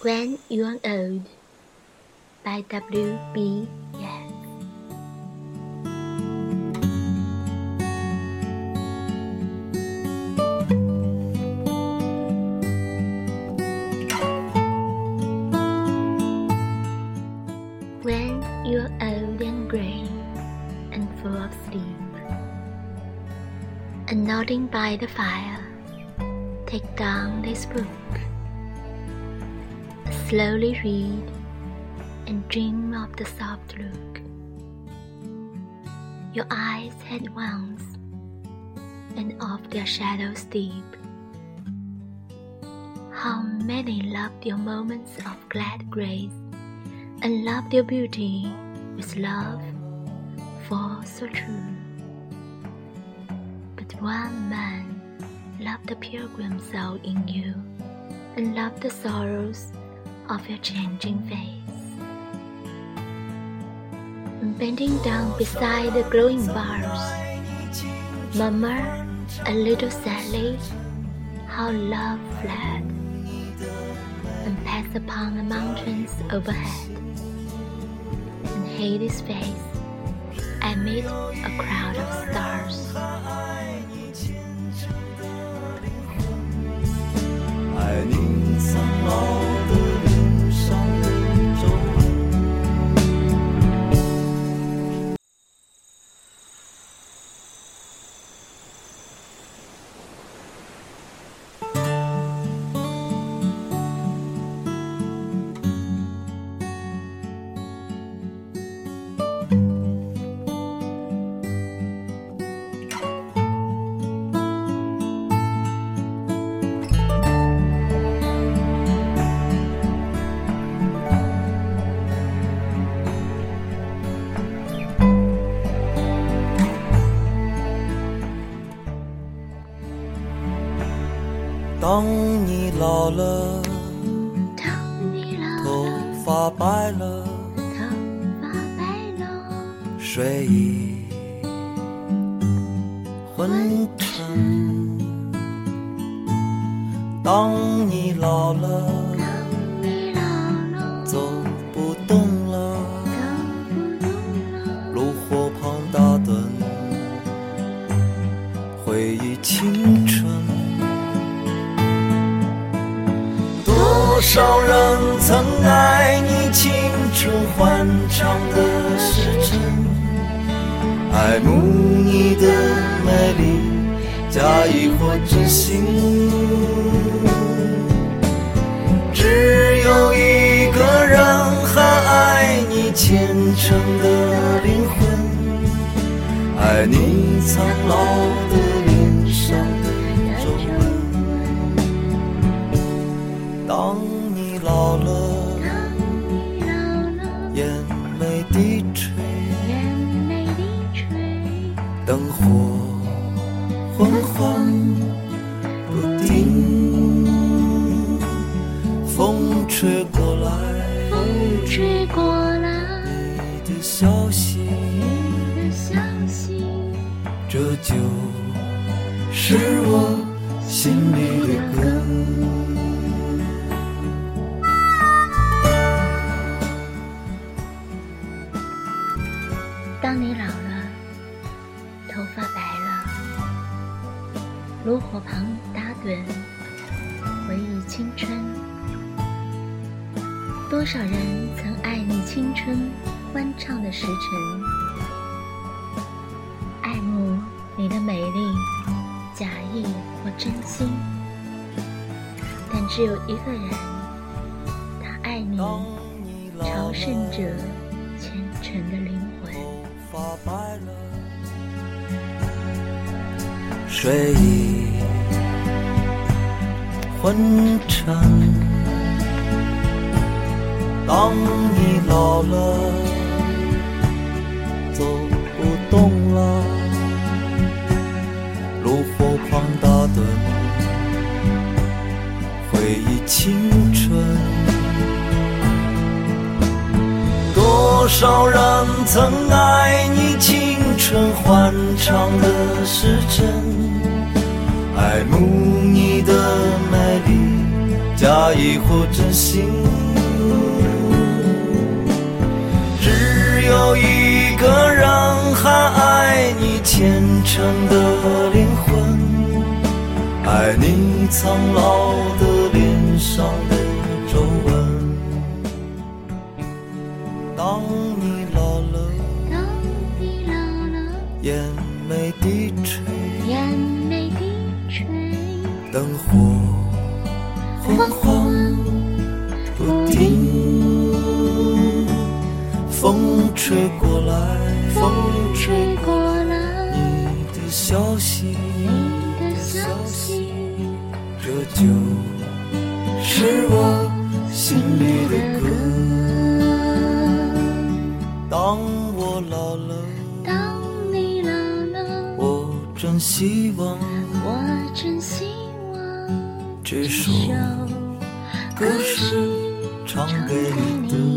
When You're Old by W.B. Yeats. When you're old and grey and full of sleep, and nodding by the fire, take down this book, slowly read and dream of the soft look your eyes had once, and of their shadows deep. How many loved your moments of glad grace, and loved your beauty with love for so true. But one man loved the pilgrim soul in you, and loved the sorrows of your changing face. Bending down beside the glowing bars, murmur a little sadly how love fled, and passed upon the mountains overhead, and hid his face amid a crowd of stars. 爱你苍老的脸上的皱纹。当你老了，头发白了，睡意昏沉。当你老了，走不动了，炉火旁打盹，回忆青春。多少人曾爱你青春欢畅的时辰，爱慕你的美丽，假意或真心。只有一个人还爱你虔诚的灵魂，爱你苍老的脸上的皱纹。当你老了，眼眉低垂，灯火昏黄不定，风吹过来，你的消息，这就是我心里的根。 当你老了，头发白了，炉火旁打盹，回忆青春。多少人曾爱你青春欢畅的时辰，爱慕你的美丽，假意或真心。但只有一个人，他爱你朝圣者虔诚的灵魂。 睡意昏沉，当你老了，走不动了，炉火旁打盹，回忆青春。多少人曾爱你青春欢畅的时辰，爱慕你的美丽，假假意或真心，只有一个人还爱你虔诚的灵魂，爱你苍老的脸上的皱纹。当你老了，眼眉低垂，灯火昏黄不定，风吹过来，你的消息，这就是我心里的歌。当我老了，我真希望这首歌是唱给你的。